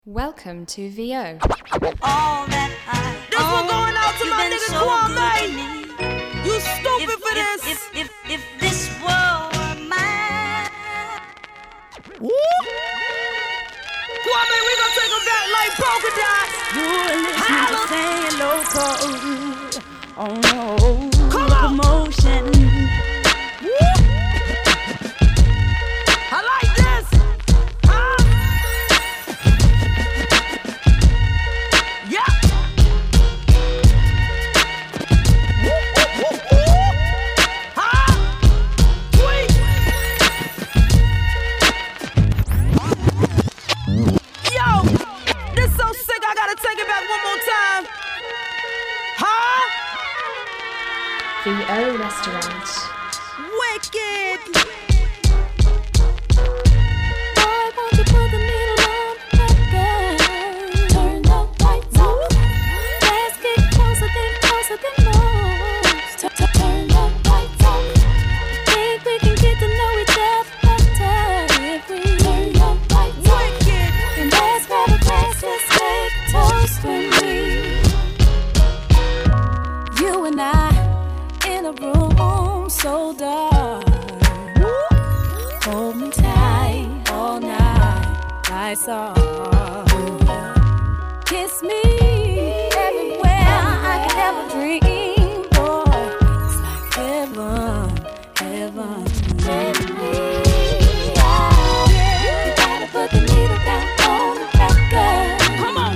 Welcome to VO. All that this one going out to my nigga so Kwame. You stupid for this. If this world were mine. Woo! Kwame, we gonna take him back like polka dots. You are listening to Saying Loco on promotion. Woo! I like this. VO Restaurant. Wicked! Boy, won't you put the needle on that girl? Turn the lights off. Let's get closer than most. Turn the lights off. Think we can get to know each other better if we turn the lights off. Wicked! And let's grab a glass, let's take a toast when you and I in a room so dark. Hold me tight all night, lights off. Kiss me everywhere I could ever dream, boy. It's like heaven, heaven to me. You gotta put the needle down on the record. Come on!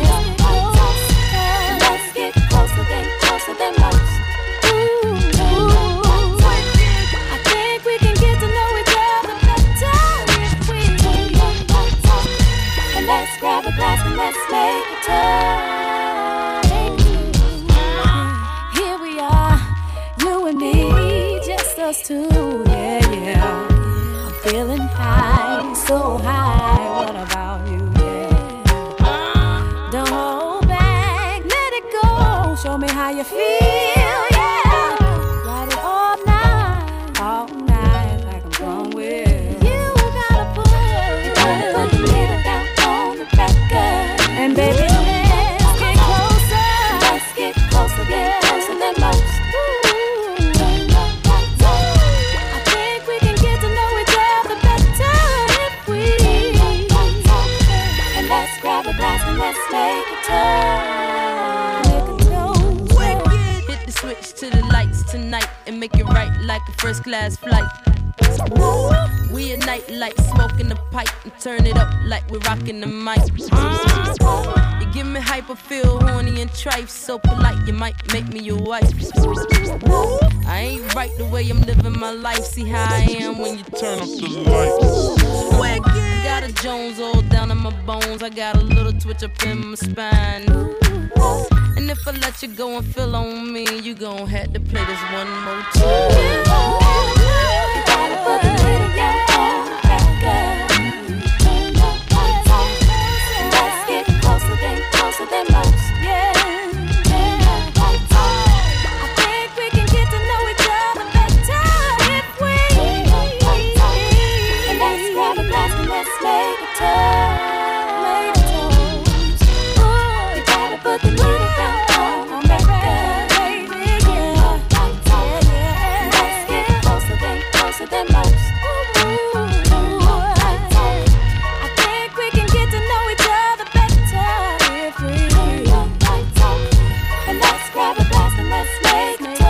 Let's get closer than most. Grab a glass and let's make a turn. Here we are, you and me, just us two, yeah. I'm feeling high, so high, what about you, yeah? Don't hold back, let it go, show me how you feel, yeah. Ride it all night, like I'm going with you. Gotta put the needle down. And baby, let's get closer than most. I think we can get to know each other better if we. And let's grab a glass and let's make a toast. Hit the switch to the lights tonight and make it right like a first class flight. We ignite like smoking the pipe and turn it up like we're rocking the mic. You give me hype, I feel horny and trife. So polite, you might make me your wife. I ain't right the way I'm living my life. See how I am when you turn up the lights. Got a Jones all down in my bones. I got a little twitch up in my spine. And if I let you go and feel on me, you gon' have to play this one more time. Put the needle down on the record. Turn the lights off. Let's get closer than most. Yeah. Lights off. I think we can get to know each other better if we. And let's grab a glass and let's make a toast. Ooh, you gotta put the needle down on the record, baby. Yeah. Lights off. Let's get closer than most. I think we can get to know each other better if we. And let's grab a glass and let's make a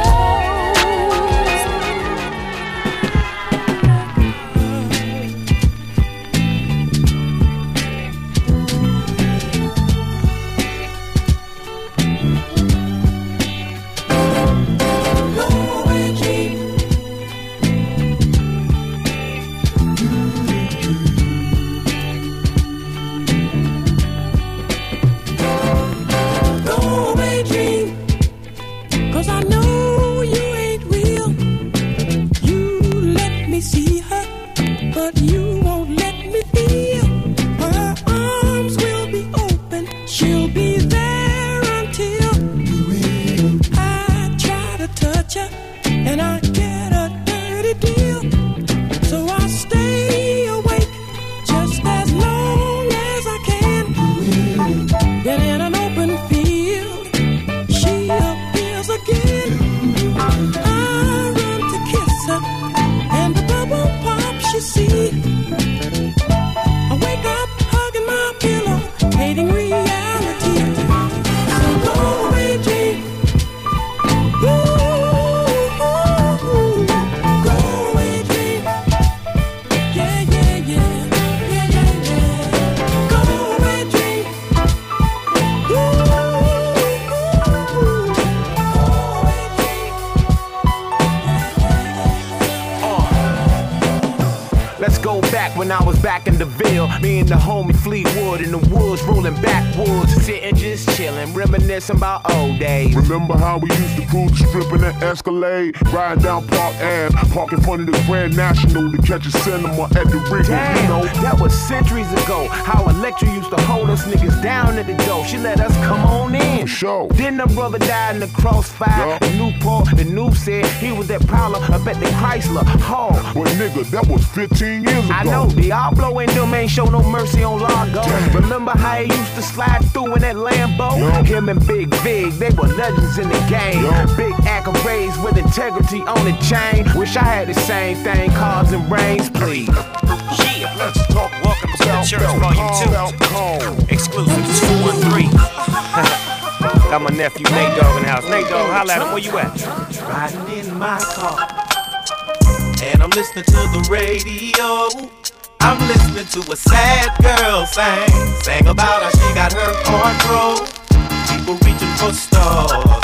and I get a dirty deal. So I stay awake just as long as I can. Then in an open field, she appears again. I run to kiss her, and the bubble pop she see. I wake up hugging my pillow, hating reality. So go away, dream. When I was back in the Ville, me and the homie Fleetwood in the woods, rolling backwoods, sitting just chilling, reminiscing about old days. Remember how we used to cruise the strip in that Escalade, riding down Park Ave, park in front of the Grand National to catch a cinema at the Regal. Damn, you know, that was centuries ago. How Electra used to hold us niggas down at the door. She let us come on in. For sure. Then the brother died in the crossfire. Yeah. In Newport, the news said he was that prowler up at the Chrysler Hall. But nigga, that was 15 years ago. I know, Diablo and them ain't show no mercy on Largo. Remember how he used to slide through in that Lambo? Yo. Him and Big Vig, they were legends in the game. Yo. Big accolades with integrity on the chain. Wish I had the same thing, cars and brains, please. Yeah, let's talk. Welcome to the Church Volume 2. Exclusive 213. Got my nephew Nate Dogg in the house. Nate Dogg, holla at him. Where you at? Riding in my car, and I'm listening to the radio. I'm listening to a sad girl sang about how she got her heart broke. People reaching for stars.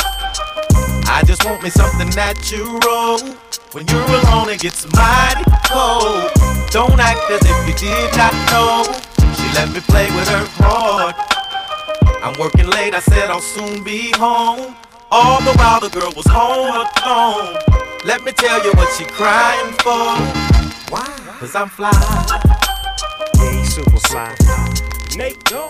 I just want me something natural. When you're alone, it gets mighty cold. Don't act as if you did not know. She let me play with her heart. I'm working late, I said I'll soon be home. All the while the girl was home alone. Let me tell you what she crying for. Why? Cause I'm fly. Yeah, he's super fly. Nate Dogg.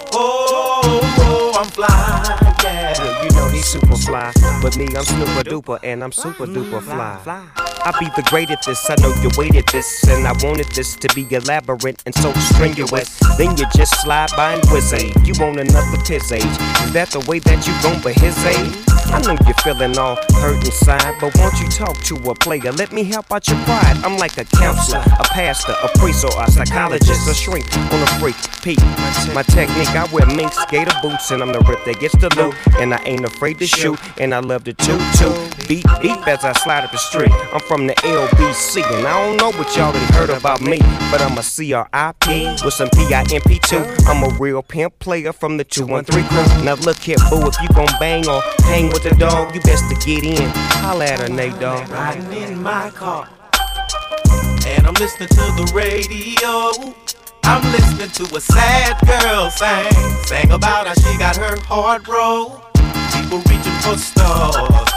Oh, I'm fly, yeah. Yeah, you know he's super fly. But me, I'm super duper, and I'm super duper fly. I be the great at this, I know you waited this, and I wanted this to be elaborate and so strenuous. Then you just slide by and whiz age. You want another piss age. Is that the way that you gon' be his age? I know you're feeling all hurt inside, but won't you talk to a player? Let me help out your pride. I'm like a counselor, a pastor, a priest, or a psychologist, a shrink on a freak. Peep, my technique, I wear mink skater boots, and I'm the rip that gets the loot. And I ain't afraid to shoot, and I love to toot. Beep, beep as I slide up the street. I'm from the LBC, and I don't know what y'all done heard about me, but I'm a CRIP with some PIMP too. I'm a real pimp player from the 213 crew. Now look here, boo, if you gon' bang or hang with the dog, you best to get in. Holla at her, Nate Dogg. Riding in my car, and I'm listening to the radio. I'm listening to a sad girl sang about how she got her heart broke. People reaching for stars.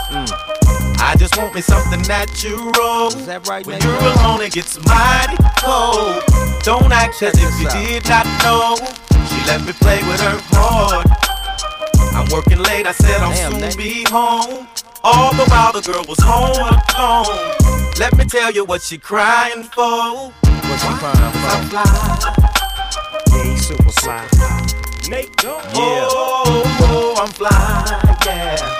I just want me something natural. Is that right, when Nate you're Dogg? alone, it gets mighty cold. Don't act as if you did not know. She let me play with her heart. I'm working late, I said I'll soon be home. All the while the girl was home alone. Let me tell you what she crying for. What's she crying for? I'm fly. Yeah, he's super fly. Nate Dogg. Oh, I'm fly, yeah.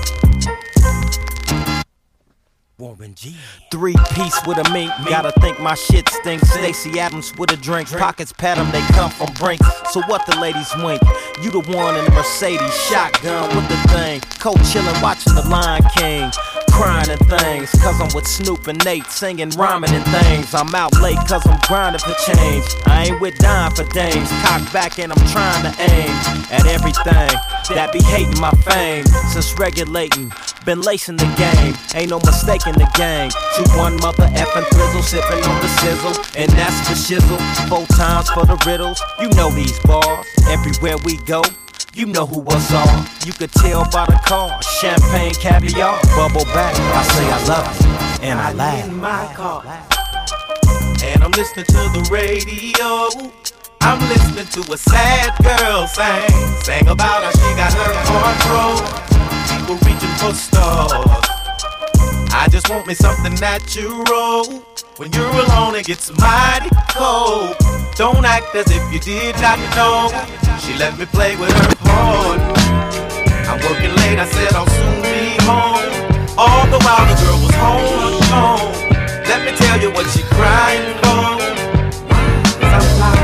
Warren G. 3-piece with a mink, gotta think my shit stinks. Stacey Adams with a drink, pockets pat 'em, they come from Brinks. So what the ladies wink? You the one in the Mercedes, shotgun with the thing. Co-chillin', watching the Lion King. Crying and things, cause I'm with Snoop and Nate, singing, rhyming and things. I'm out late cause I'm grinding for change. I ain't with dying for dames. Cock back and I'm trying to aim at everything that be hating my fame. Since regulating, been lacing the game. Ain't no mistake in the gang. 2-1 mother effing thrizzle, sipping on the sizzle. And that's the shizzle, 4 times for the riddles. You know these bars, everywhere we go. You know who was all. You could tell by the car. Champagne, caviar, bubble back. I say I love it, and I laugh. In my car, and I'm listening to the radio. I'm listening to a sad girl sang about how she got her heart broke. People reaching for stars. I just just want me something natural. When you're alone, it gets mighty cold. Don't act as if you did not know. She let me play with her heart. I'm working late, I said I'll soon be home. All the while the girl was home alone. Let me tell you what she crying for. 'Cause I'm fly.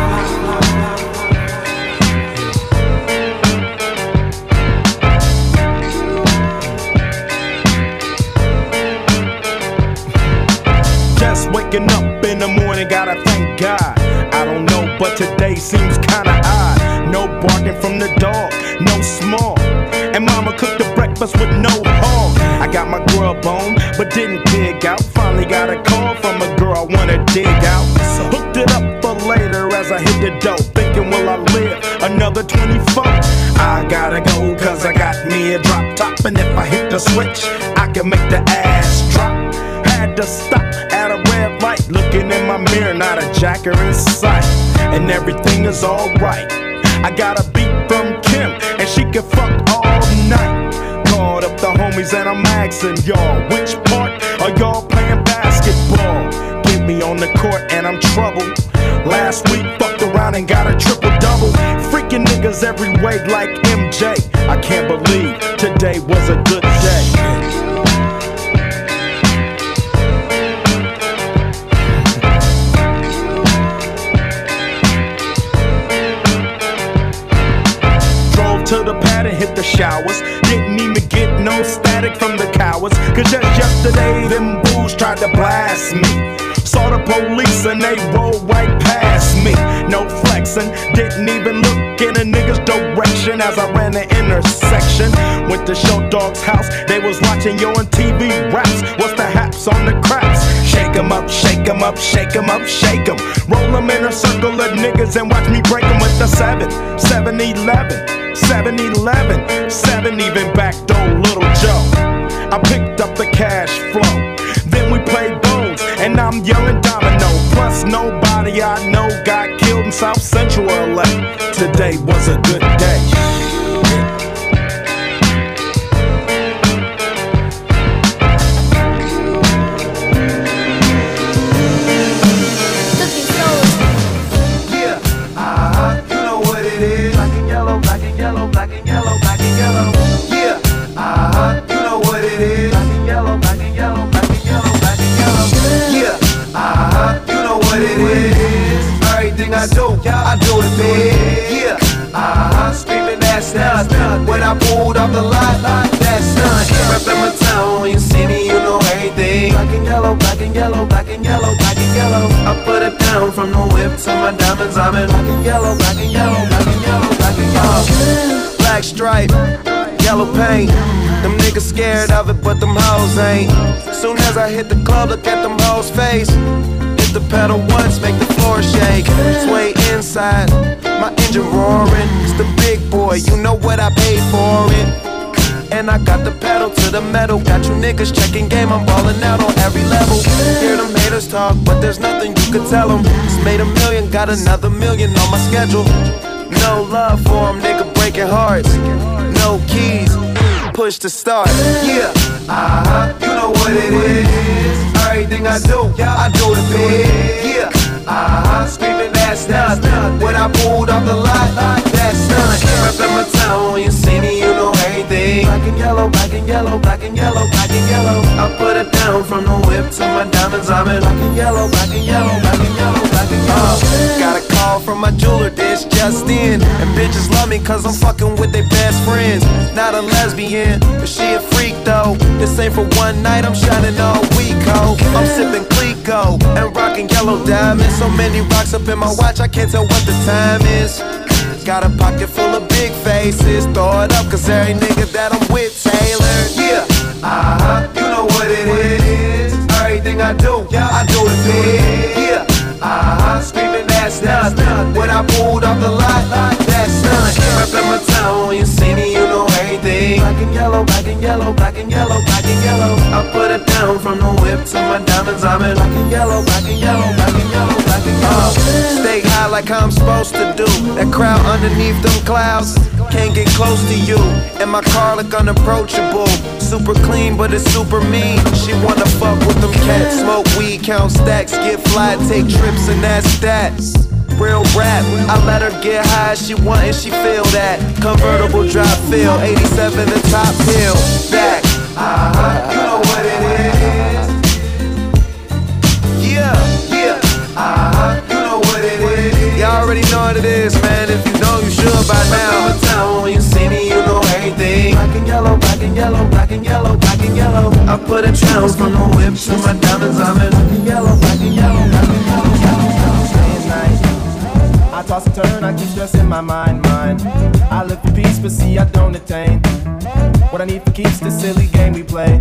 Just waking up in the morning, gotta thank God. I don't know, but today seems kinda odd. No barking from the dog, no small. And mama cooked the breakfast with no hog. I got my grub on, but didn't dig out. Finally got a call from a girl I wanna dig out. So hooked it up for later as I hit the dough. Thinking, will I live another 24? I gotta go, cause I got me a drop top. And if I hit the switch, I can make the ass drop. Had to stop at a red light, looking in my mirror, not a jacker in sight. And everything is alright. I got a beat from Kim, and she can fuck all night. Called up the homies and I'm asking y'all, which part are y'all playing basketball? Get me on the court and I'm troubled. Last week fucked around and got a triple-double. Freaking niggas every way like MJ. I can't believe today was a good day. To the pad and hit the showers. Didn't even get no static from the cowards. Cause just yesterday them fools tried to blast me. Saw the police and they rolled right past me. No flexing, didn't even look in a nigga's direction as I ran the intersection. Went to Show Dog's house, they was watching Yo on TV raps. What's the haps on the craps? Shake 'em up, shake 'em up, shake 'em up, shake 'em. Roll 'em in a circle of niggas and watch me break 'em with the 7-11. 7-11, 7 even backdoor Little Joe. I picked up the cash flow. Then we played bones, and I'm yelling domino. Plus nobody I know got killed in South Central LA. Today was a good day. I do it big. Yeah, screaming that's nothing. When I pulled off the lot, that's nothing. Reppin' my town, when you see me, you know everything. Black and yellow, black and yellow, black and yellow, black and yellow. I put it down from the whip to my diamonds. I'm in black and yellow, black and yellow, black and yellow, black and yellow. Black stripe, yellow paint. Them niggas scared of it, but them hoes ain't. Soon as I hit the club, look at them hoes' face. The pedal once, make the floor shake. Sway inside, my engine roaring. It's the big boy, you know what I paid for it. And I got the pedal to the metal. Got you niggas checking game, I'm ballin' out on every level. Hear them haters talk, but there's nothing you could tell them. Just made $1 million, got another $1 million on my schedule. No love for them, nigga breaking hearts. No keys, push to start. Yeah, you know what it is. Everything I do, I do it big. Yeah, screaming that's nothing. When I pulled off the lot, that's nothing. Reppin' my town, when you see me, you know everything. Black and yellow, black and yellow, black and yellow, black and yellow. I put it down from the whip to my diamonds. I'm in black and yellow, black and yellow, black and yellow, black and yellow. Got a call from my jeweler, this just in. And bitches love me cause I'm fucking with their best friends. Not a lesbian, but she a freak though. This ain't for one night, I'm shining all week, ho. I'm sipping Clico and rocking yellow diamonds. So many rocks up in my watch, I can't tell what the time is. Got a pocket full of big faces. Throw it up, cause every nigga that I'm with tailored. Yeah, you know what it is. Everything I do, I do it big. Yeah, screaming that's nothing. When I pulled off the lot, that's nothing. Reppin' my town, when you see me, you know everything. Black and yellow, black and yellow, black and yellow, black and yellow. I put it down from the whip to my diamonds. I'm in black and yellow, black and yellow, black and yellow, black and yellow. Stay high like I'm supposed to do. That crowd underneath them clouds can't get close to you. And my car look unapproachable. Super clean, but it's super mean. She wanna fuck with them cats. Smoke weed, count stacks, get fly, take trips, and that's that. Real rap, I let her get high, she want and she feel that. Convertible drop feel, 87 the top hill. Back, you know what it is. Yeah, you know what it is. Y'all already know what it is, man. If you know, you should by now. I'm town when you see me, you know everything. Black and yellow, black and yellow, black and yellow, black and yellow. I put a challenge from the whip to my diamonds. I'm in black and yellow, black and yellow, black and yellow, I toss and turn, I keep stressing my mind. I live for peace, but see I don't attain what I need for keeps the silly game we play.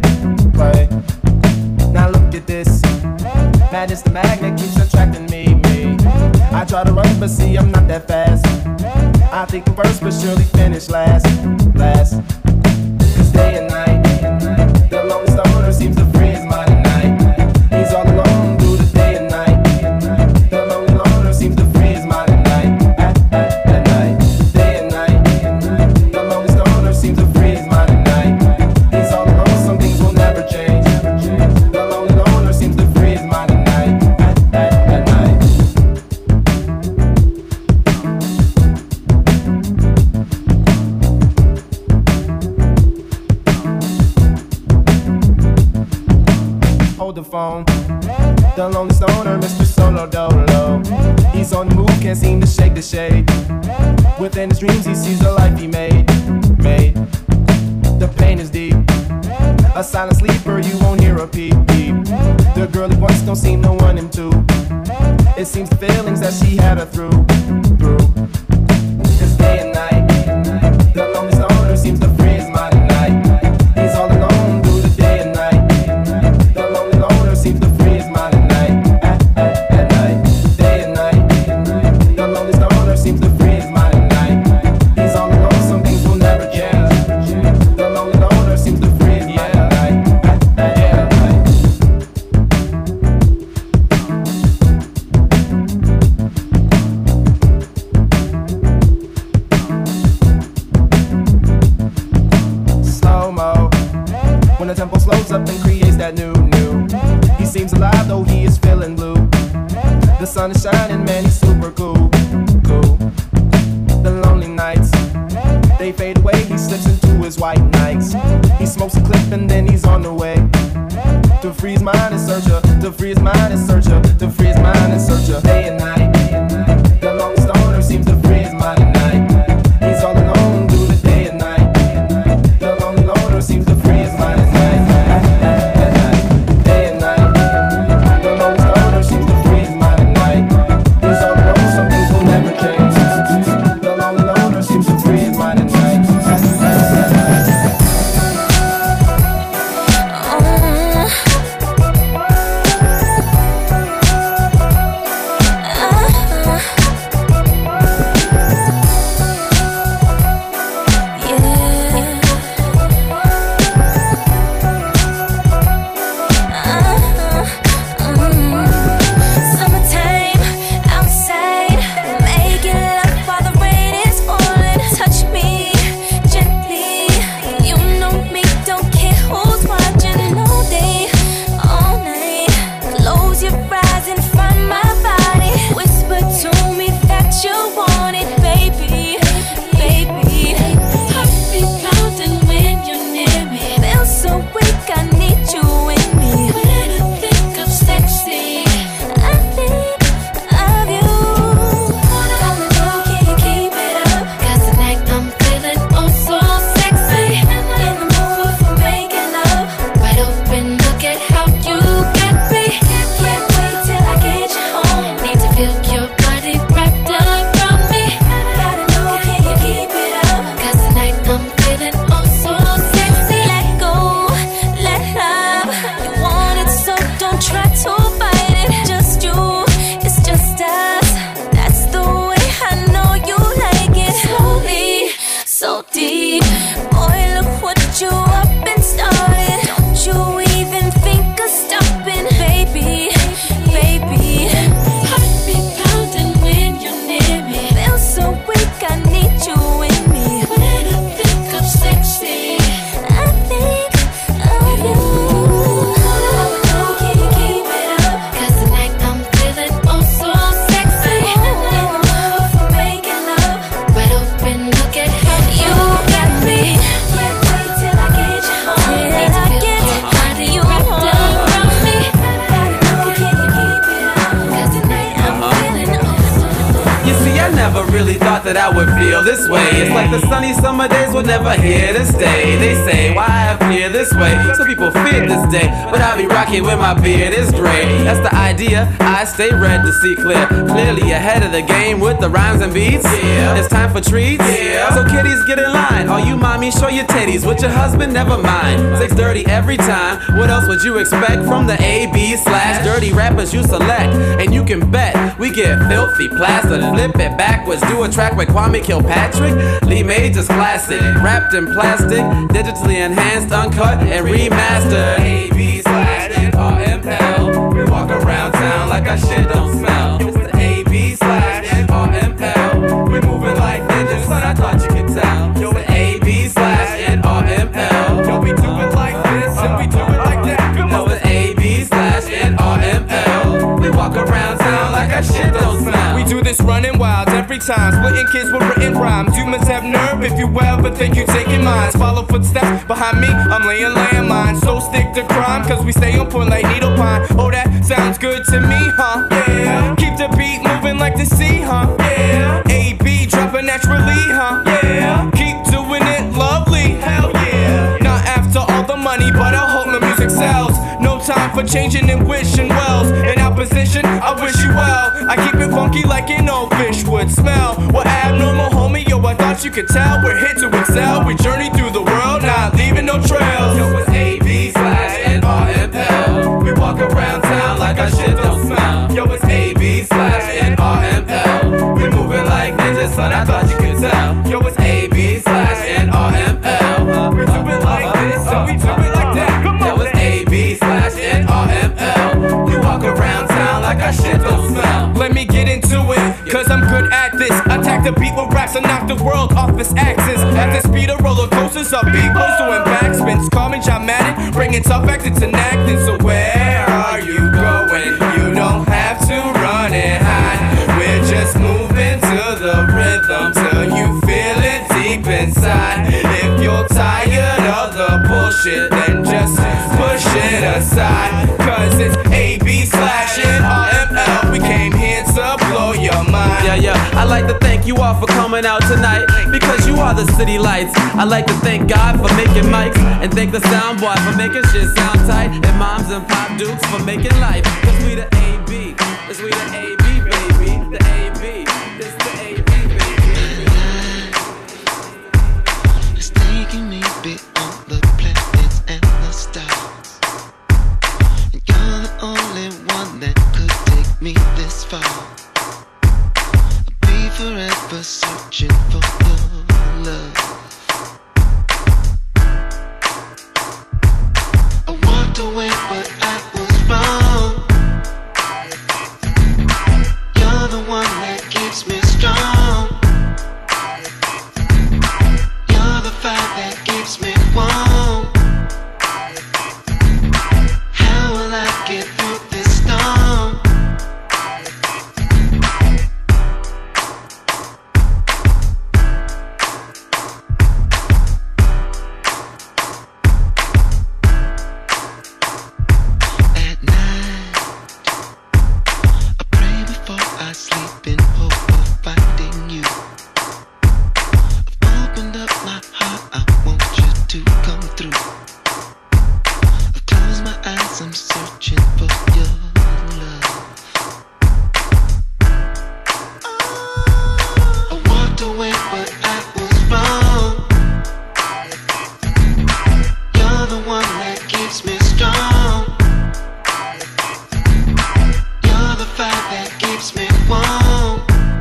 Now look at this, madness the magnet keeps attracting me. I try to run, but see I'm not that fast. I think I'm first, but surely finish last. Cause day and night, the lonely stoner seems to free his mind at night. He's all alone through the day and night. The lonely loner seems to free his mind at night. At night, day and night. The lonely stoner seems to free his mind at night. He's all alone, some things will never change. The lonely loner seems to free his mind at night. At night. Hold the phone. The lonely stoner, Mr. Solo Dolo. He's on the move, can't seem to shake the shade. Within his dreams, he sees the life he made. The pain is deep. A silent sleeper, you won't hear a peep. The girl he wants don't seem to want him to. It seems the feelings that she had her through. It's day and night. The lonely stoner seems to free his mind at night. He's all alone through the day and night. The lonely loner seems to free his mind at night. At night, day and night. The lonely stoner seems to free his mind at night. He's all alone, some things will never change. The lonely loner seems to free his mind at night. At night. Slow-mo, when the tempo slows up and creates that new. He seems alive though he is feeling blue. The sun is shining, man, he's super cool. The lonely nights, they fade away, he slips into his white nights. He smokes a clip and then he's on the way. To free his mind and search her, to free his mind and search her, to free his mind and search her. Day and night, the lonely stoner seems to free his mind at night. He's all alone through the day and night. The lonely loner seems to free his mind at night. At night, day and night. The lonely stoner seems to free his mind at night. He's thought that I would feel this way. It's like the sunny summer days were never here to stay. They say, why appear this way? Some people fear this day, but I be rocking when my beard is gray. That's the idea, I stay red to see clear. Clearly ahead of the game with the rhymes and beats. Yeah. It's time for treats. Yeah. So kiddies, get in line. All you mommies, show your titties. With your husband, never mind. 6:30 every time. What else would you expect from the A/B/dirty rappers you select? And you can bet we get filthy, plastered, flip it backwards. Do a track with Kwame Kilpatrick. Lee Major's classic, wrapped in plastic, digitally enhanced, uncut, and remastered. A/B/RML. We walk around town like our shit don't smell. It's the A/B/RML. We moving like ninjas, son, I thought you could tell. Yo, it's the A/B/RML. Yo, we do it like this and we do it like that. Yo, it's A/B/RML. We walk around town like our shit don't smell. We do this running wild every time, splitting kids with written rhymes. You must have nerve if you ever think you taking mines. Follow footsteps behind me, I'm laying landmines. So stick to crime, cause we stay on point like needle pine. Oh, that sounds good to me, huh? Yeah. Keep the beat moving like the sea, huh? Yeah. A-B dropping naturally, huh? Yeah. Keep doing it lovely, hell yeah. Not after all the money, but I hope the music sells. No time for changing and wishing wells. In opposition, I wish you well. I keep it funky like an old fish would smell. We're abnormal, homie, yo, I thought you could tell. We're here to excel, we journey through the world, not leaving no trails. Yo, it's A/B/RML. We walk around town like our shit don't smell. Yo, it's A/B/RML. We moving like ninjas, son, I thought you could tell. Yo, it's A/B/RML. We do it like this, and we do it like that. Yo, it's A/B/RML. We walk around town like our shit don't smell. Let me get into it, cause I'm good at this. Attack the beat with raps and knock the world off its axis. At the speed of roller coasters, up people's doing backspins. Call me John Madden, bringing tough acting to acting. So where are you going? You don't have to run and hide. We're just moving to the rhythm till you feel it deep inside. If you're tired of the bullshit, then just push it aside. Cause it's A/B/RML. We came here to blow your mind. Yeah, I like to thank you all for coming out tonight, because you are the city lights. I like to thank God for making mics, and thank the sound boy for making shit sound tight, and moms and pop dukes for making life. Cause we the A.B., cause we the A.B., baby. The A.B., it's the A.B., baby. It's taking me beyond the planets and the stars, and you're the only one that could take me this far. I'll be forever searching for your love. I walked away, but I was wrong. You're the one that keeps me strong. You're the fire that keeps me warm. How will I get through this storm? At night, I pray before I sleep in hope of finding you. I've opened up my heart, I want you to come through. I've closed my eyes, I'm searching for your love. I walked away, but I was wrong. You're the one that keeps me strong. You're the fire that keeps me warm.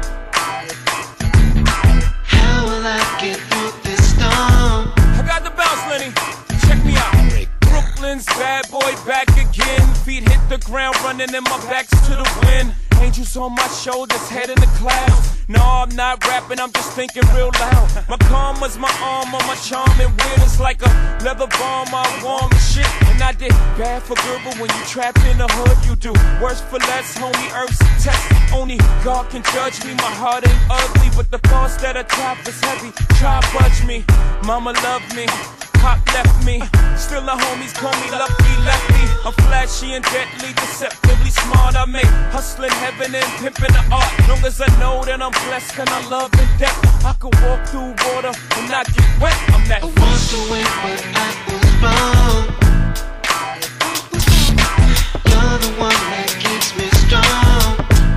How will I get through this storm? I got the bounce, Lenny. Check me out. Brooklyn's bad boy back again. Feet hit the ground, running and my back's to the wind. Angels on my shoulders, head in the clouds. No, I'm not rapping, I'm just thinking real loud. My karma's my arm on my charm and weird. It's like a leather bomb, I warm and shit. And I did bad for good, but when you trapped in the hood, you do worse for less, homie. Earth's a test. Only God can judge me. My heart ain't ugly, but the thoughts that are top is heavy. Try budge me, mama love me. Pop left me, still the homies call me Lucky Lefty. I'm flashy and deadly, deceptively smart. I make hustling heaven and pimping the art. Long as I know that I'm blessed and I love in depth, I could walk through water and not get wet. I'm that walked away when I was wrong. You're the one that keeps me strong.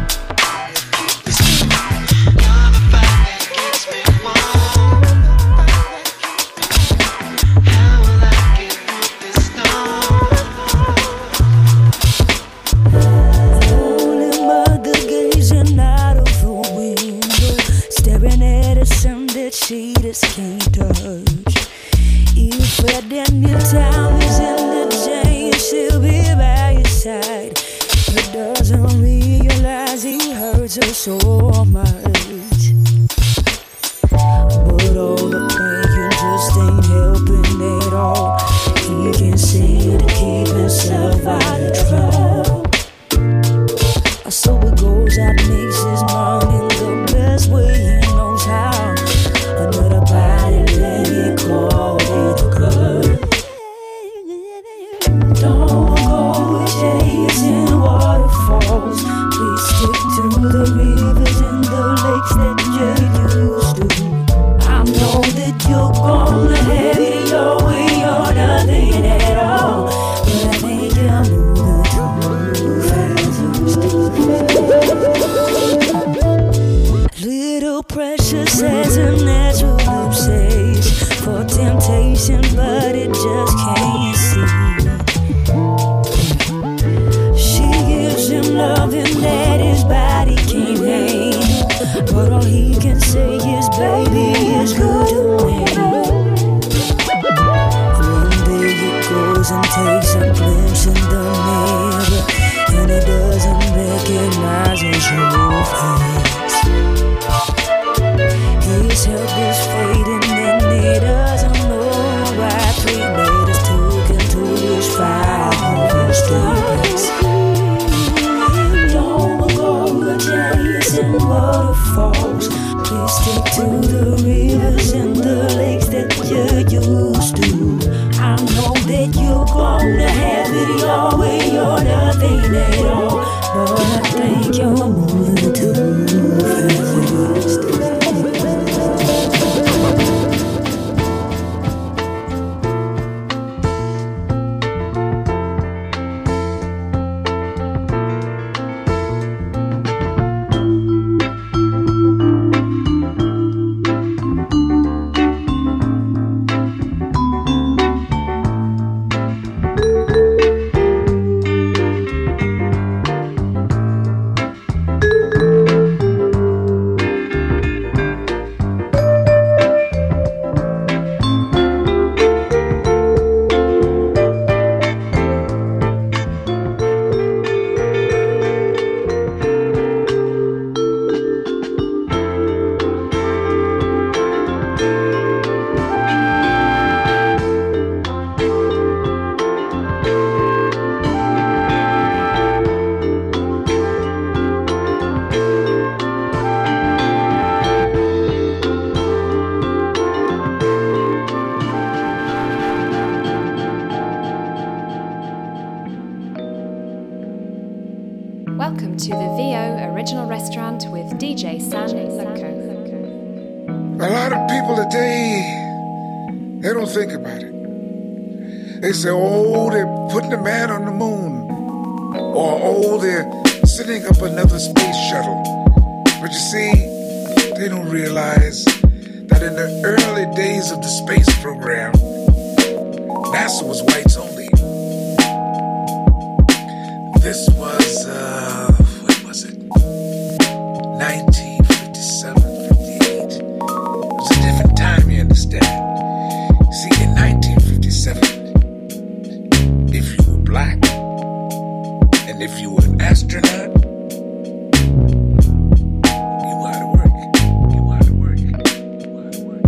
You're the fire that keeps me warm. How will I get through this storm? Holy mother gazing out of the window, staring at a sun that she just can't touch. If at any time is in the change, she'll be by your side. He doesn't realize he hurts her so much. But all the praying just ain't helping at all. He can see to keep himself out of trouble. So it goes out, makes his money the best way he knows how. Another body let it call it good. Don't go chasing waterfalls. Please stick to the rivers and the lakes that you used to. I know that you're gonna have it your way or nothing at all. But I think you're moving too fast. Little precious has a natural obsession for temptation, but it just can't see. She gives him loving that his body can't handle, but all he can say is, baby, it's good to me. One day he goes and takes a glimpse in the mirror, and he doesn't recognize his own face. His health is fading and he doesn't know why. 3 letters took him to his 5 streets. Don't go chasing waterfalls. Please stick to the rivers and the lakes that you used to. I know that you're gonna have it your way or nothing at all, but I think you're moving too fast. Welcome to the VO Original Restaurant with DJ San Loco. A lot of people today, they don't think about it. They say, oh, they're putting a man on the moon. Or, oh, they're sending up another space shuttle. But you see, they don't realize that in the early days of the space program, NASA was whites only. This was, when was it? 1957, 58. It was a different time, you understand. See, in 1957, if you were black, and if you were an astronaut, you were out of work. You were out of work. You were out of work.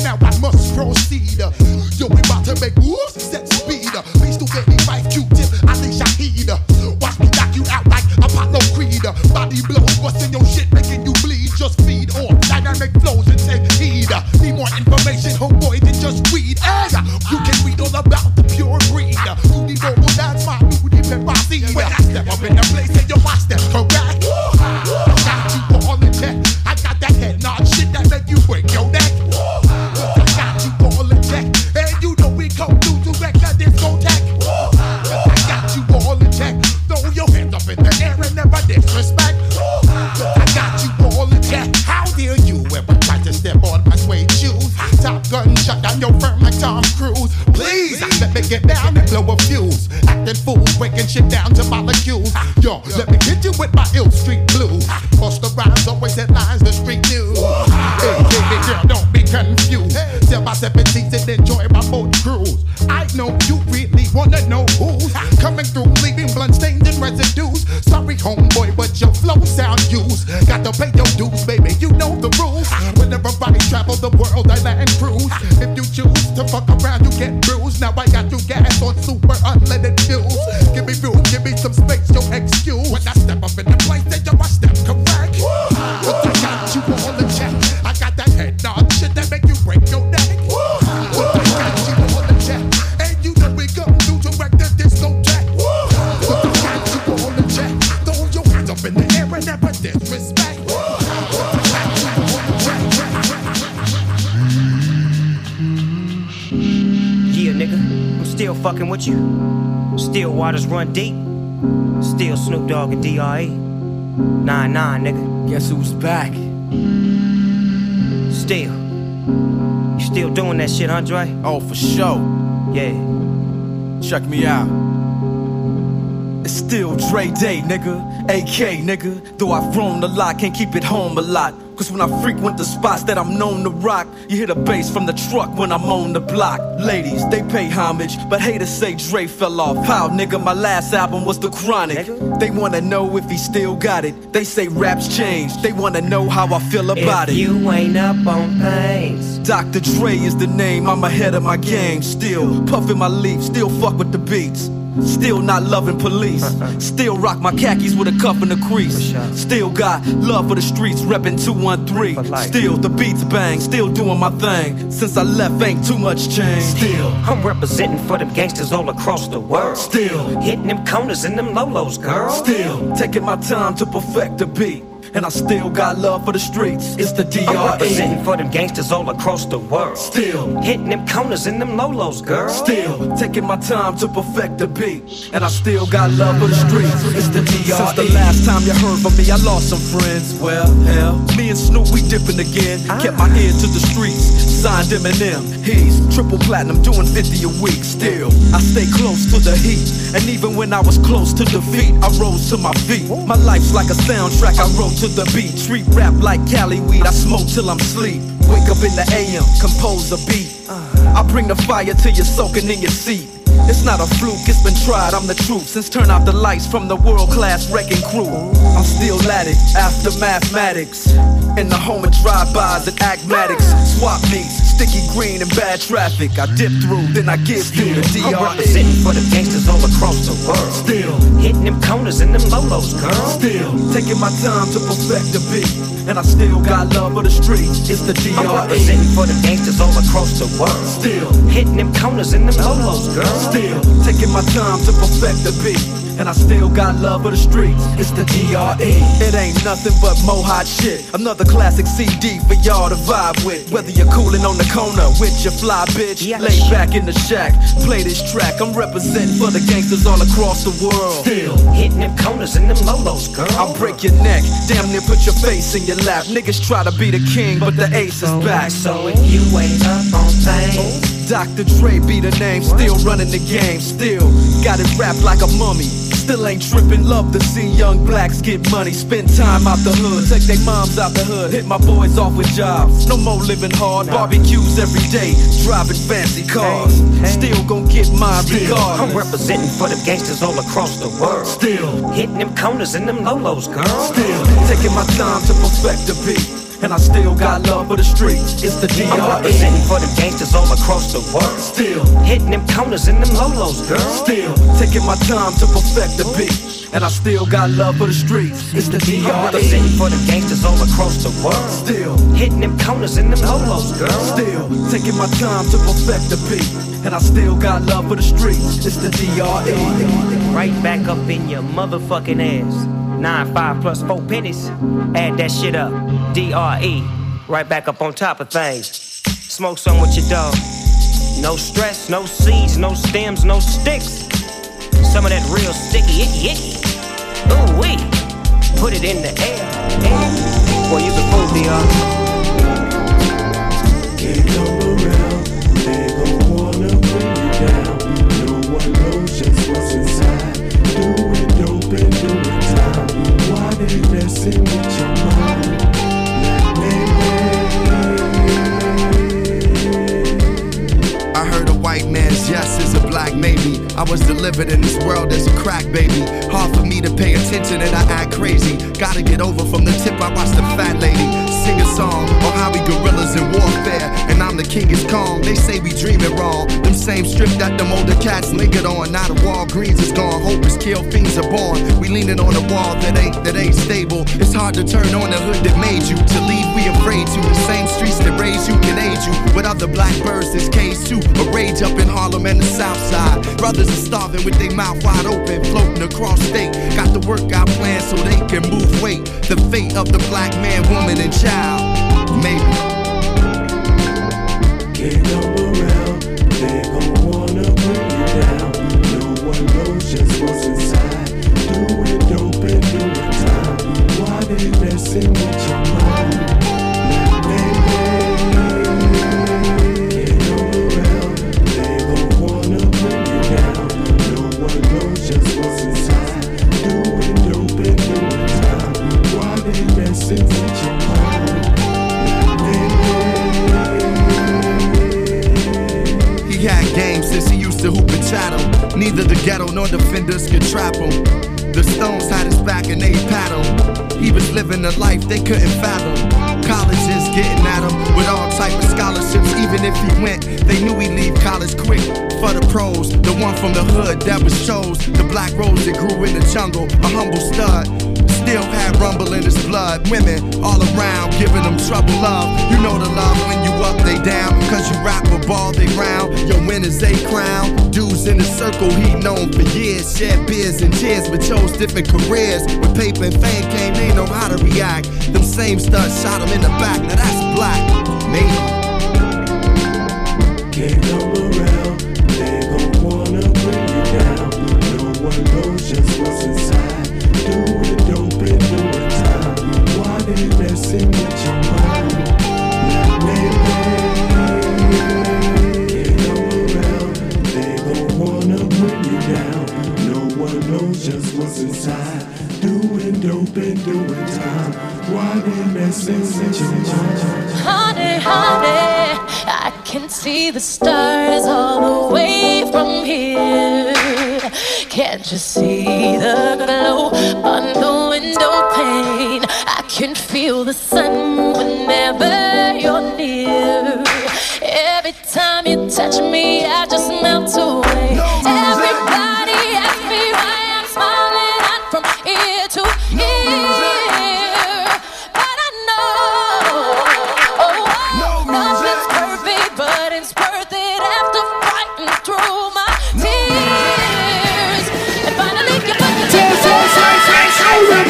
now I must proceed. Yo, we about to make moves, set speed. Please do let me fight Q-tip, I think Shahid. Watch me knock you out like Apollo Creed. Body blows, busting your shit, making you bleed. Just feed off dynamic flows and take heed. Need more information, homeboy, than just weed. Hey, you can read all about the pure breed. You need vocal, that's my new deep and bossy. When I step up in the place, and yo, I step correct. Got you all in check. I got that head nod shit that make you break your neck. I got you all in check. And you know we come through to wreck that discotheque. I got you all in check. Throw your hands up in the air and never disrespect. I got you all in check. How dare you ever try to step on my suede shoes? Top gun shut down your firm like Tom Cruise. Please, let me get down and blow a fuse. Acting fools, breaking shit down to molecules. Yo, let me hit you with my ill street blues. Post the rhymes, always headlines, the street news. Hey, baby girl, don't be confused. Tell my 17s and enjoy my boat cruise. I know you really wanna know who's coming through, leaving blood stains and residues. Sorry, homeboy, but your flow sound used. Got to pay your dues, baby, you know the rules. Whenever I travel the world, I land cruise. If you choose to fuck around, you get bruised. Now I got you gas on super unleaded fuels. Give me room, give me some space, your excuse. When I step up in the place, then yo, I step correct. But I got you all in check. I got that head nod shit that make you break your neck. But I got you all in check. And you know we come through to wreck the discotheque. But I got you all in check. Throw your hands up in the air and never disrespect. But I got you all in check. Yeah, nigga, I'm still fucking with you. Still waters run deep. Still Snoop Dogg and D.R.E. 9-9, nigga. Guess who's back? Still. You still doing that shit, Andre? Oh, for sure. Yeah. Check me out. It's still Dre Day, nigga. AK, nigga. Though I've grown a lot, can't keep it home a lot. Cause when I frequent the spots that I'm known to rock, you hear the bass from the truck when I'm on the block. Ladies, they pay homage, but haters say Dre fell off. How, nigga, my last album was The Chronic. They wanna know if he still got it. They say raps changed, they wanna know how I feel about it. If you ain't up on things. Dr. Dre is the name, I'm ahead of my game. Still puffin' my leaf, still fuck with the beats. Still not loving police. Still rock my khakis with a cuff in the crease. Still got love for the streets, reppin' 213. Still the beats bang, still doing my thing. Since I left ain't too much change. Still I'm representing for them gangsters all across the world. Still hitting them corners and them lolos, girl. Still taking my time to perfect the beat. And I still got love for the streets. It's the D.R.E. I'm representing for them gangsters all across the world. Still hitting them corners and them lolos, girl. Still taking my time to perfect the beat. And I still got love for the streets. It's the D.R.E. Since the last time you heard from me, I lost some friends. Well, hell, me and Snoop, we dipping again. Kept my ear to the streets. Signed Eminem. He's triple platinum, doing 50 a week. Still, I stay close to the heat. And even when I was close to defeat, I rose to my feet. My life's like a soundtrack I wrote to the beat. Treat rap like Cali weed, I smoke till I'm sleep. Wake up in the AM, compose a beat. I bring the fire till you're soaking in your seat. It's not a fluke, it's been tried, I'm the truth. Since turn out the lights from the world-class wrecking crew, I'm still at it, after mathematics. In the home of drive-bys and acmatics. Swap meets, sticky green and bad traffic. I dip through, then I give through the D.R.E. I'm representing for the gangsters all across the world. Still hitting them corners and them lolos, girl. Still taking my time to perfect the beat. And I still got love for the streets. It's the D.R.E. I'm representing for the gangsters all across the world. Still hitting them corners and them lolos, girl. Still taking my time to perfect the beat. And I still got love for the streets. It's the D.R.E. It ain't nothing but mo hot shit. Another classic CD for y'all to vibe with. Whether you're coolin' on the corner with your fly bitch, lay back in the shack, play this track. I'm representing for the gangsters all across the world. Still hitting them corners and them lolos, girl. I'll break your neck, damn near put your face in your lap. Niggas try to be the king, but the ace is back. So if you ain't up on things, Dr. Dre be the name, still running the game. Still got it wrapped like a mummy. Still ain't trippin', love to see young blacks get money. Spend time out the hood, take their moms out the hood. Hit my boys off with jobs, no more living hard. Barbecues every day, driving fancy cars. Still gon' get mine regardless. I'm representing for the gangsters all across the world. Still hitting them corners and them lolos, girl. Still taking my time to perfect the beat. and I still got love for the streets. It's the DRE. I'm representing for the gangsters all across the world. Still hitting them corners in them lolos, girl. Still taking my time to perfect the beat, and I still got love for the streets. It's the DRE. I'm representing for the gangsters all across the world. Still hitting them corners in them lolos, girl. Still taking my time to perfect the beat, and I still got love for the streets. It's the DRE. Right back up in your motherfucking ass. 9, 5 plus 4 pennies. Add that shit up. DRE. Right back up on top of things. Smoke some with your dog. No stress, no seeds, no stems, no sticks. Some of that real sticky, icky. Ooh wee. Put it in the air. Boy, you can fool DR. Can't come around. They gon' wanna bring you down. No one knows just what's inside. Doing dope and doing time. Why they messing with your mind? I heard a white man's yes is a black maybe. I was delivered in this world as a crack baby. Hard for me to pay attention and I act crazy. Gotta get over from the tip I watched the fat lady sing a song on how we gorillas in warfare, and I'm the king is calm. They say we dreaming wrong. Them same strip that them older cats lingered on. Now the Walgreens is gone. Hope is killed, fiends are born. We leaning on a wall that ain't stable. It's hard to turn on the hood that made you. To leave we afraid to. The same streets that raised you can aid you. With other black birds that's caged too. A rage up in Harlem and the South Side. Brothers are starving with their mouth wide open, floating across state. Got the workout plan so they can move weight. The fate of the black man, woman, and child. Maybe. Can't come around. They gon' wanna bring you down. No one knows just what's inside. Doing dope and doing time. Why they messing with your mind? Can't come around. They gon' wanna bring you down. No one knows just what's inside. Doing dope and doing time. Why they messing with your mind? He had game since he used to hoop and chattel. Neither the ghetto nor defenders could trap him. The Stones had his back and they pat him. He was living a life they couldn't fathom. Colleges getting at him with all type of scholarships. Even if he went, they knew he'd leave college quick. For the pros, the one from the hood that was chose. The black rose that grew in the jungle, a humble stud. Still had rumble in his blood. Women all around giving him trouble love. You know the love when you up, they down. Cause you rap a ball, they round. Your winners, they crown. Dudes in the circle, he known for years. Shared beers and tears, but chose different careers. When paper and fame came, they know how to react. Them same studs shot him in the back. Now that's black, maybe. Can't come around. They gon' wanna bring you down. No one knows just what's inside. Doing dope and doing time. Why they messing with your mind? Can't come around. They gon' wanna bring you down. No one knows just what's inside. Doing dope and doing time. Why they messing with your mind? Honey, honey, I can see the stars all the way from here. Can't you see the glow on the window pane? I can feel the sun whenever you're near. Every time you touch me, I just melt away. Everybody asks me why I'm smiling out from ear to ear. But I know nothing's perfect, but it's worth it after fighting through my tears. And finally you put the tears on my face. You're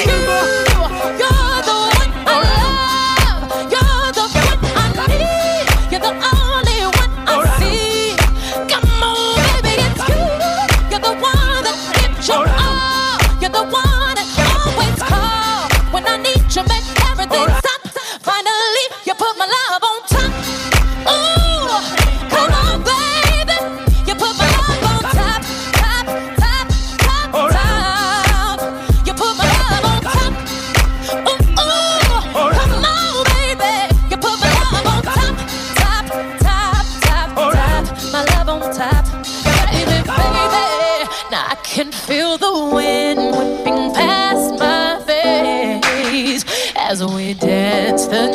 the one I love. You're the one I need. You're the only one I see. Come on, baby, it's you. You're the one that gives your all. You're the one that always call when I need you. Make everything stop. Finally, you put my love on top. Ooh, come on, baby. You put my love on top, top, top, top, top. You put my love on top. Ooh, come on, baby. You put my love on top, top, top, top, top. My love on top, baby, baby. Now I can feel the wind whipping past my face as we dance the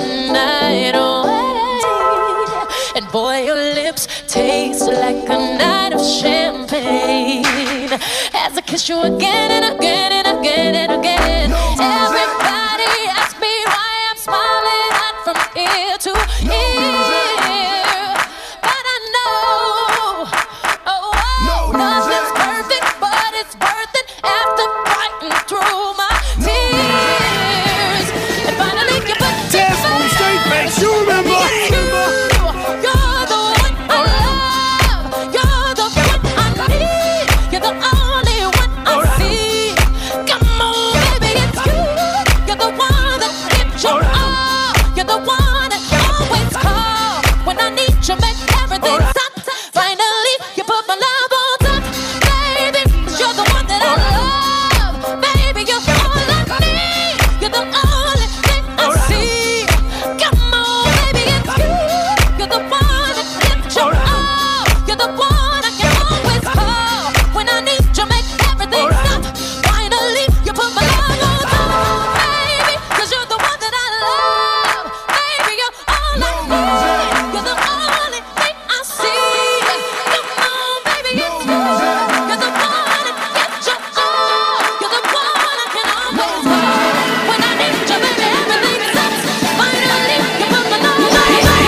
boy, your lips taste like a night of champagne. As I kiss you again and again and again and again. Everybody asks me why I'm smiling hot from ear to ear. But I know, nothing's perfect, but it's worth it after fighting through my tears. And finally you put Tess on straight face, you remember? You're the one I love. You're the one I need. You're the only one I see. Come on, baby, it's you. You're the one that gives your all. You're the one that always call when I need you, make everything stop. Finally, you put my love on top, baby. 'Cause you're the one that I love, baby. You're all I need. You're the only thing I see. Come on, baby, it's you. You're the one that gives your all. You're the one I can always call when I need you, make everything stop. Finally, you put my love on top, baby. 'Cause you're the one that I love, baby. You're all I need. You're the only thing I see. Come on, baby, it's you. You're the one that gives your all. You're the one I can always call when I need you, baby. Everything stops. Finally, you put my love on top.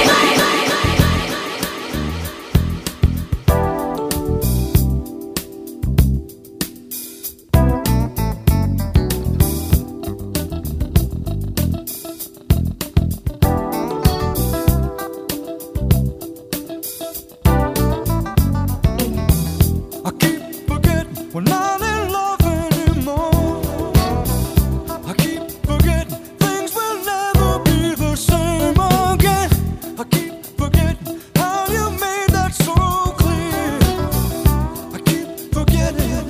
I keep forgetting we're not in love anymore. I keep forgetting things will never be the same again. I keep forgetting how you made that so clear. I keep forgetting.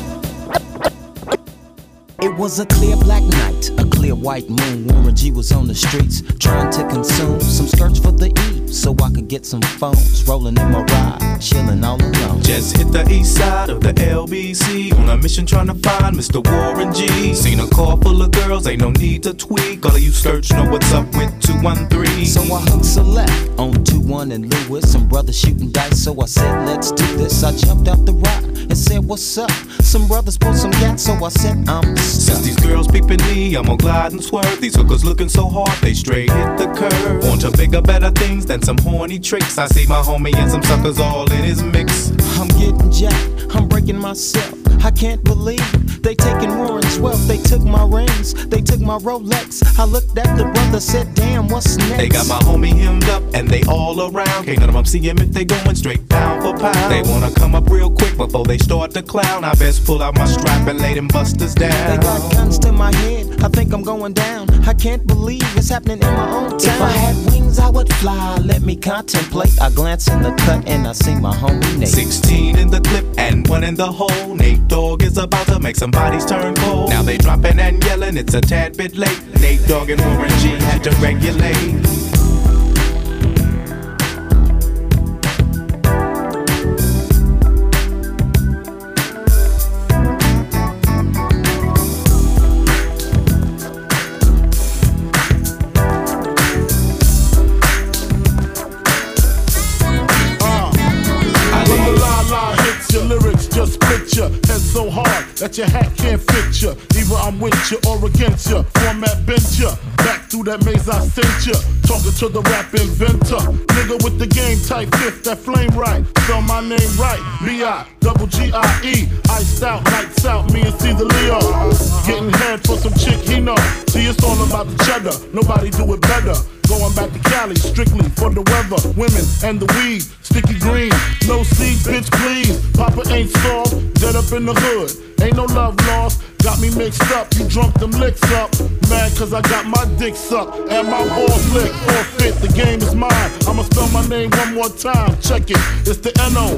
It was a clear black night, a clear white moon. Warren G was on the streets trying to consume some skirts for the eve so I could get some phones. Rolling in my ride, chilling all alone. Just hit the east side of the LBC on a mission trying to find Mr. Warren G. Seen a car full of girls, ain't no need to tweak. All of you skirts know what's up with 213. So I hooked select on 21 and Lewis. Some brothers shooting dice, so I said, let's do this. I jumped out the ride and said, what's up? Some brothers pulled some gas, so I said, I'm stuck. Since these girls peeping me, I'm gonna glide and swerve. These hookers looking so hard, they straight hit the curve. On to bigger, better things than some horny tricks. I see my homie and some suckers all in his mix. I'm getting jacked, I'm breaking myself. I can't believe they taking Warren's wealth. They took my rings, they took my Rolex. I looked at the brother, said, damn, what's next? They got my homie hemmed up and they all around. Can't none of them see him if they going straight pound for pound. They wanna come up real quick before they start to clown. I best pull out my strap and lay them busters down. They got guns to my head, I think I'm going down. I can't believe it's happening in my own town. If I had wings, I would fly, let me contemplate. I glance in the cut and I see my homie Nate. 16 in the clip and 1 in the hole. Nate Dogg is about to make some bodies turn cold. Now they dropping and yelling, it's a tad bit late. Nate Dogg and Warren G had to regulate. Just picture, head so hard that your hat can't fit ya. Either I'm with ya or against ya. Format bent ya, back through that maze I sent ya. Talking to the rap inventor, nigga with the game type fifth, that flame right. Spell my name right, B-I-double-G-I-E. Iced out, lights out, me and Caesar Leo. Getting head for some chick he know. See, it's all about the cheddar, nobody do it better. Going back to Cali, strictly for the weather, women, and the weed. Sticky green, no seed, bitch, please. Papa ain't soft, dead up in the hood. Ain't no love lost, got me mixed up. You drunk them licks up. Mad cause I got my dick sucked and my balls licked. Forfeit, the game is mine. I'ma spell my name one more time. Check it, it's the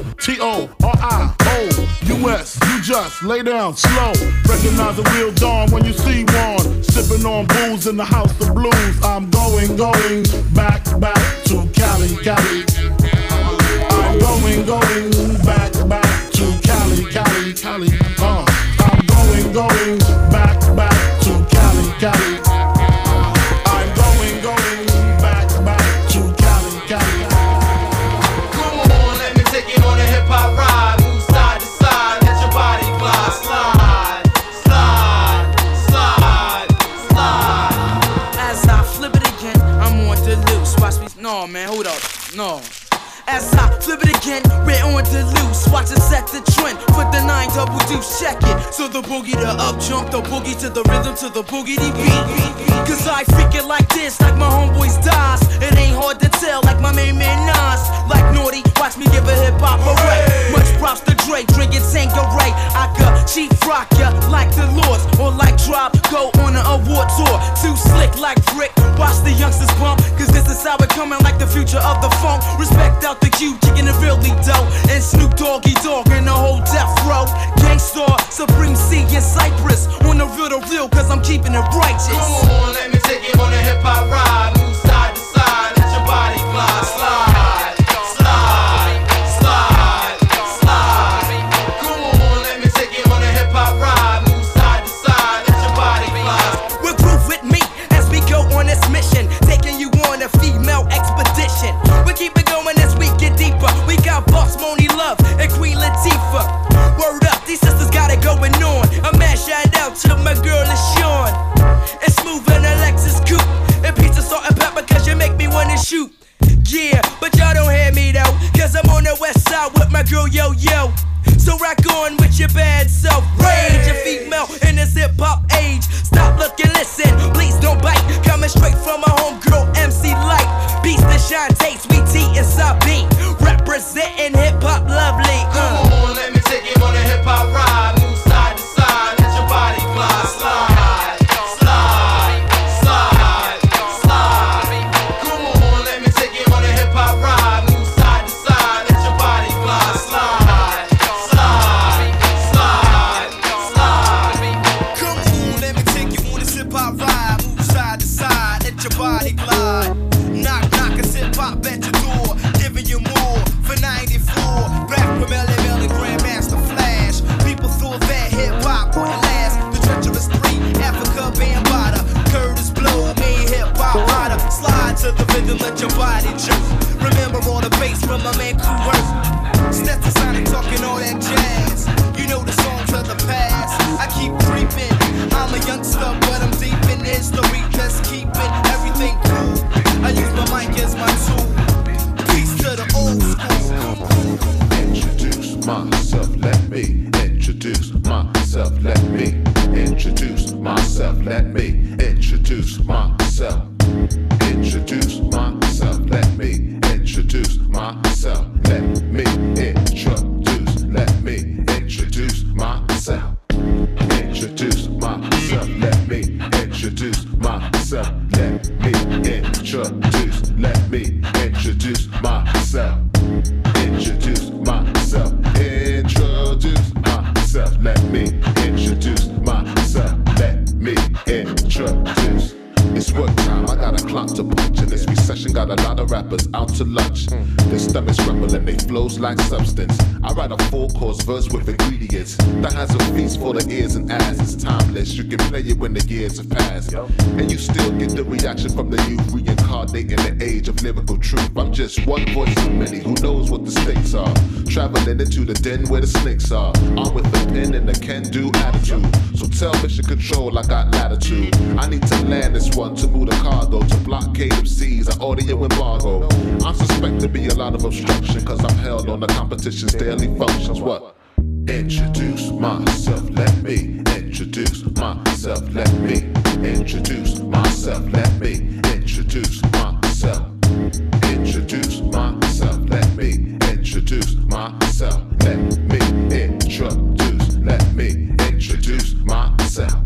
N-O-T-O-R-I-O-U-S. You just lay down slow. Recognize a real dawn when you see one. Sipping on booze in the house of blues. I'm going back to Cali, Cali. I'm going back to Cali, Cali, Cali. I'm going back to Cali, Cali. I'm going back to Cali, Cali. man, hold up. No. As I flip it again, we're on to loose. Watch it set the trend. Put the 9 double deuce, check it. So the boogie to up jump, the boogie to the rhythm, to the boogie beat. Cause I freak it like this, like my homeboys dies. It ain't hard to tell, like my main man Nas. Like Naughty, watch me give a hip hop array. Much props to Dre, drinking Tanqueray. I could cheap rock ya like the Lords, or like Drop, go on an award tour. Too slick like Brick, watch the youngsters bump. Cause this is how it coming, like the future of the funk. Respect out the cube, kicking it really dope. And Snoop Doggy Dogg in the whole death row. Gangstar, Supreme C in Cypress. On the real, cause I'm keeping it righteous. Come on, let me take you on a hip hop ride. Move side to side, let your body glide. Slide, slide, slide, slide. Come on, let me take you on a hip hop ride. Move side to side, let your body glide. Well, groove with me as we go on this mission, taking you on a female expedition. We keep it going as we get deeper. We got Boss Moni Love and Queen Latifah. Word up, these sisters got it going on. A man shout out to my girl LaShawn. It's Smooth and Alexis Coupe. And pizza, salt and pepper, cause you make me wanna shoot. Yeah, but y'all don't hear me though, cause I'm on the west side with my girl Yo Yo. So rock on with your bad self. Rage a female in this hip hop age. Stop, look and listen, please don't bite. Coming straight from my homegirl MC Light. Beats the shine takes, Sweet T and Sabi. Representing hip hop lovely. Come on, let me take you on a hip hop ride. Move side to side, let your body glide. Slide, slide, slide, slide. Come on, let me take you on a hip hop ride. Move side to side, let your body glide. Slide, slide, slide, slide. Come on, let me take you on this hip hop ride. Move side to side, let your body glide. Knock, knock, it's hip hop at your door. Giving you more for 94. Back from Melly Mel and Grandmaster Flash. People thought that hip hop wouldn't last. The treacherous 3, Africa Bambaataa. Curtis Blow made hip hop hotter. Slide to the rhythm, let your body jump. Remember all the bass from my man Coors. Stetson Sonic talking all that jazz. You know the songs of the past. I keep creeping. I'm a youngster, but I'm deep in history. Just keeping everything cool. I use my mic as my tool. Peace to the old school. Introduce myself, let me introduce myself, let me introduce myself, let me introduce myself. Introduce myself, let me introduce myself, let me introduce, let me introduce myself. Introduce myself, let me introduce myself, let me introduce, let me introduce myself. Introduce myself, introduce myself, let me introduce myself, let me introduce. It's work time, I got a clock to punch. In this recession, got a lot of rappers out to lunch. Their stomachs rumble and they flows like substance. I write a full-course verse with ingredients that has a feast for the ears and eyes. It's timeless, you can play it when the years have passed. And you still get the reaction from the youth reincarnating the age of lyrical truth. I'm just one voice of many who knows what the stakes are. Traveling into the den where the snakes are. I'm with the pen and the can-do attitude. So tell Mission Control I got latitude. I need to land this one to move the cargo, to blockade MCs, an audio embargo. I'm suspect to be a lot of obstruction, cause I'm held on the competition's daily functions. What? Introduce myself, let me introduce myself, let me introduce myself, let me introduce myself. Introduce myself, let me introduce myself, let me introduce, let me introduce myself.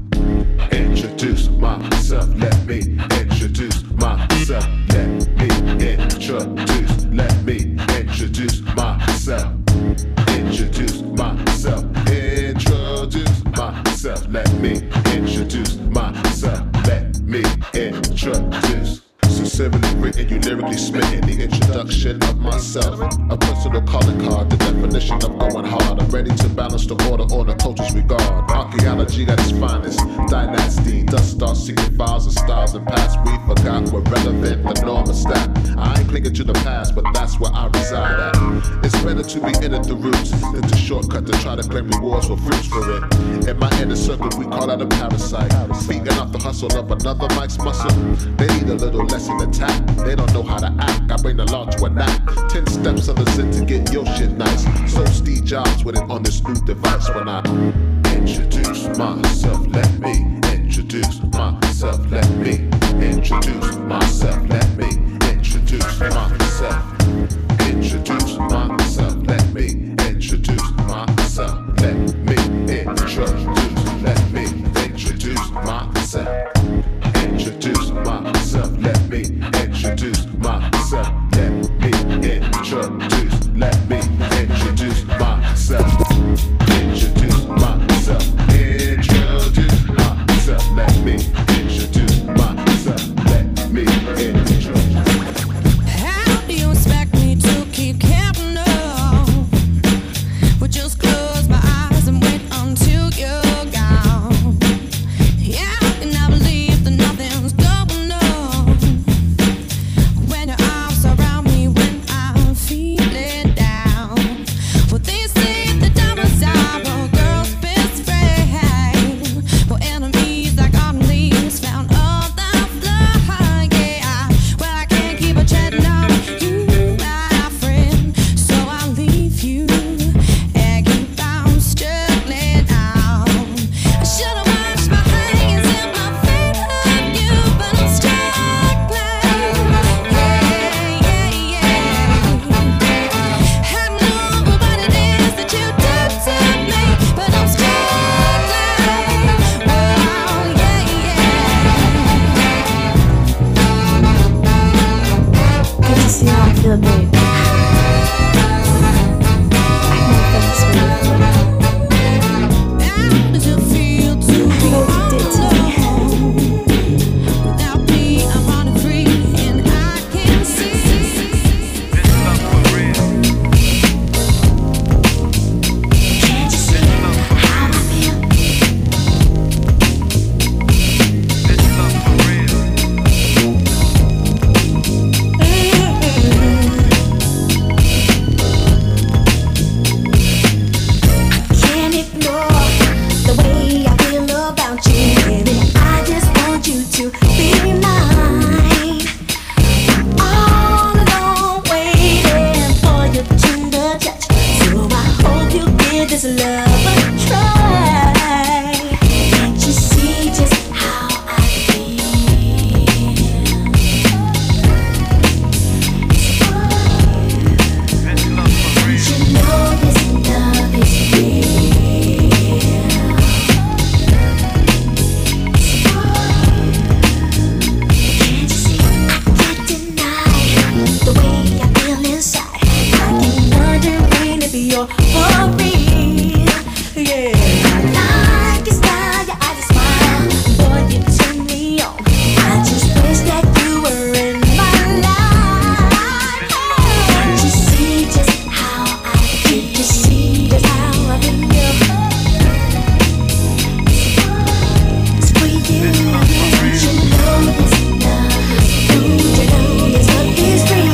Introduce myself, let me introduce myself, let me introduce, let me introduce myself. Introduce myself, introduce myself, let me introduce myself, let me introduce. Sincerely written, you lyrically smitten. The introduction introduction of myself. A personal calling card, the definition of going hard. I'm ready to balance the order on a culture's regard. Archaeology at its finest, dynasty. Dust starts secret files and styles and past. We forgot what relevant, the norm is that. I ain't clinging to the past, but that's where I reside at. It's better to be in at the roots than to shortcut to try to claim rewards for fruits for it. In my inner circle, we call that a parasite. Feeding off the hustle of another mic's muscle. They need a little lesson attack. They don't know how to act. I bring the law to a nap. 10 steps of the sin to get your shit nice. So Steve Jobs with it on this new device when I introduce myself. Let me introduce myself. Let me introduce myself. Let me introduce myself. Introduce myself. Let me introduce myself. Let me introduce. Let me introduce myself. Introduce myself. Let me introduce myself. Let me introduce. Let me introduce myself. Introduce myself. Introduce myself. Let me introduce myself. Let me introduce. How do you expect me to keep counting up? Well, just close my eyes and wait until you're gone. Yeah, and I believe that nothing's going on when your arms around me when I'm feeling down. Well, they say the diamonds are a girl's best friend. Well, enemies like autumn leaves found on the floor. Yeah, well, I can't keep a chatting on you, my friend, so I'll leave you and keep on struggling on. I should've washed my hands and my feet on you, but I'm struggling. I know what it is that you do to me, but I'm struggling. Good to see how I feel, babe. How does it feel to be alone? Without me, I'm running free, and I can see. Can't you see how I feel? Can't ignore the way I feel about you, baby. I just want you to be mine. All alone, waiting for your tender touch. So I hope you give this love a try. Can't you see just how I feel? Don't you know this love is real? Can't you see? I can't deny the way I feel inside. I keep wondering if you're for real. Yeah, I like your style, your eyes are smile. Boy, you turn me on. I just wish that you were in my life. Can't you see just how I feel? Can't you see just how I feel? It's for you. Don't you know this love is real? Don't you know this love is real?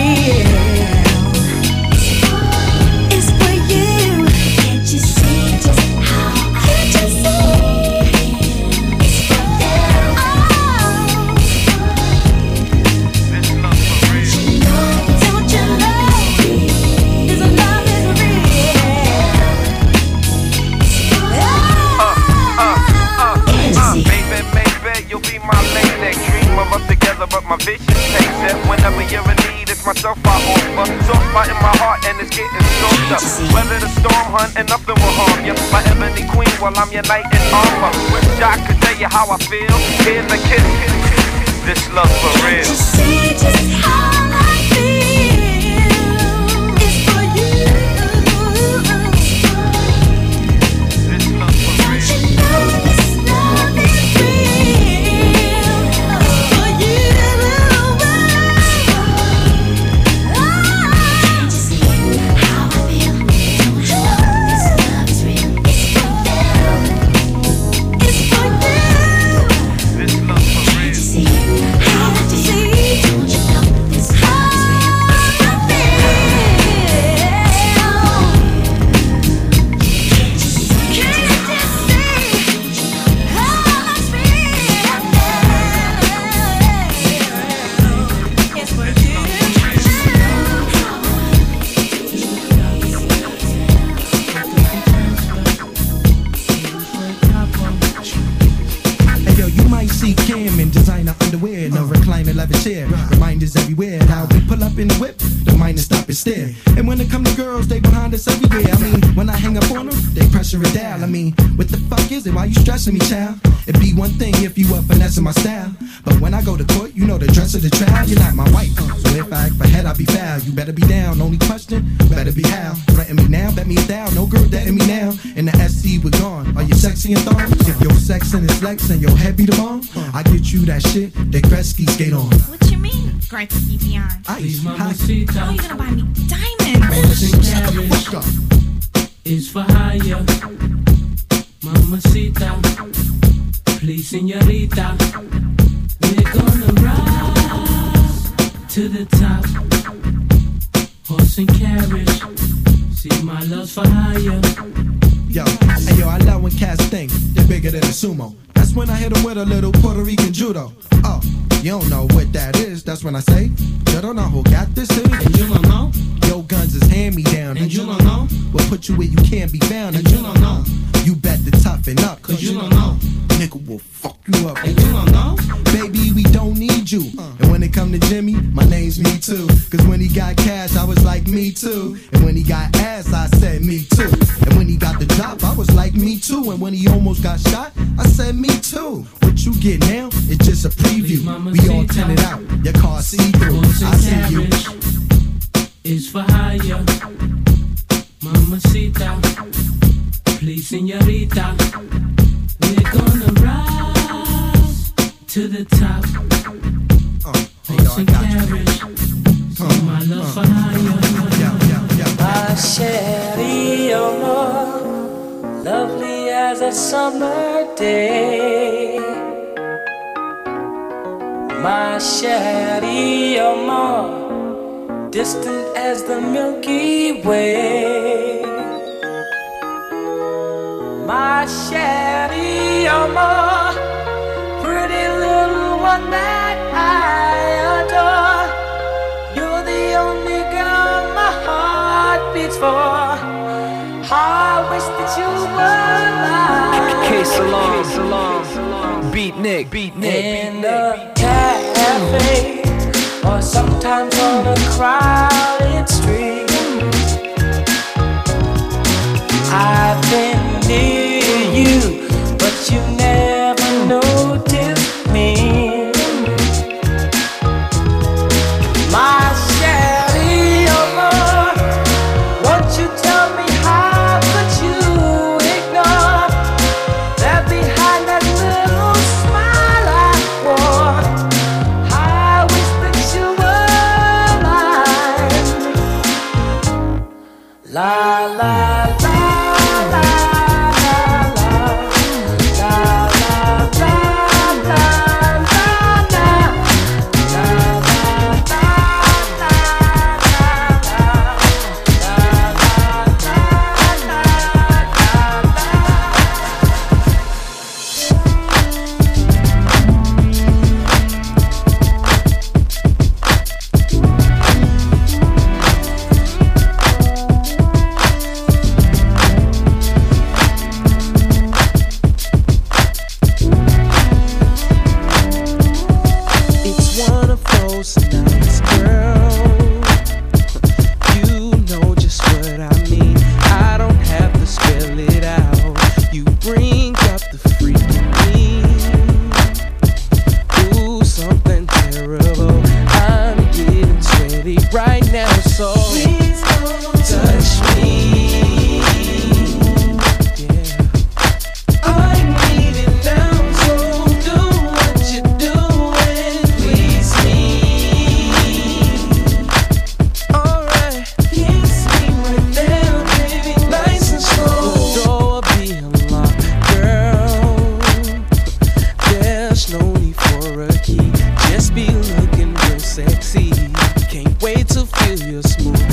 It's for you. Can't you see just how I can't you see? It's for you. Oh. Don't you know this love is real? Baby, you'll be my lady. Dream of us together, but my vision takes it. Whenever you're in need, it's myself I offer. Soft spot in my heart, and it's getting softer. Weather the storm, hunt, and nothing will harm you. My ebony queen, while I'm your knight in armor. Wish I could tell you how I feel. Here's a kiss. This love for real. Can't you see just how I feel? It's for you. Don't you know this love is real? It's for you. bitches everywhere. Now we pull up in the whip, the miners stop and stare. And when it come to girls, they behind us everywhere. I mean, when I hang up on them, they pressure it down. I mean, what the fuck is it? Why you stressing me, child? It'd be one thing if you were finessing my style, but when I go to court, you know the dress of the trial. You're not my wife, so if I act for head, I'll be foul. You better be down. Only question, better be how. Threaten me now, bet me down. No girl dating me now. In the SC, we're gone. Are you sexy and thong? If your sex and it's flex and your head be the bomb, I get you that shit that Gretzky skate on. What you mean, Gretzky beyond? Ice. How you gonna buy me diamonds? Is for hire, mamacita, please, señorita. We're gonna rise to the top, horse and carriage. See, my love's for hire. Yo, hey yo, I love when cats think they're bigger than a sumo. That's when I hit them with a little Puerto Rican judo. Oh, you don't know what that is. That's when I say, you don't know who got this is. And you don't know. Your guns is hand me down. And you don't know. We'll put you where you can't be found. And you don't know. You bet to toughen up. Cause you don't know. Nigga will fuck you up. And you don't know. Baby, we don't need you. And when it come to Jimmy, my name's Me Too. Cause when he got cash, I was like Me Too. And when he got ass, I said Me Too. And when he got the drop, I was like Me Too. And when he almost got shot, I said Me Too. What you get now, it's just a preview. We all tinted out, your car see-through. I see you. Is for hire, mamacita, please, señorita. We're gonna rise to the top, horse and carriage. See, my love for hire. My chérie, amor, lovely as a summer day. My chérie, amor, distant as the Milky Way. My chérie, amor, pretty little one that I adore. You're the only girl my heart beats for. I wish that you were mine. K-Salon, Beat Nick. In a cafe, or sometimes on a crowded street. I've been near you, but you never noticed me. My chérie, amor, won't you tell me how could you ignore that behind that little smile I wore? I wish that you were mine. La la la. Just be looking real sexy. Can't wait to feel your smooth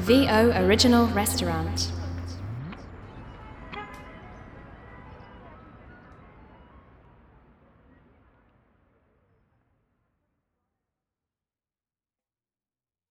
VO Original Restaurant.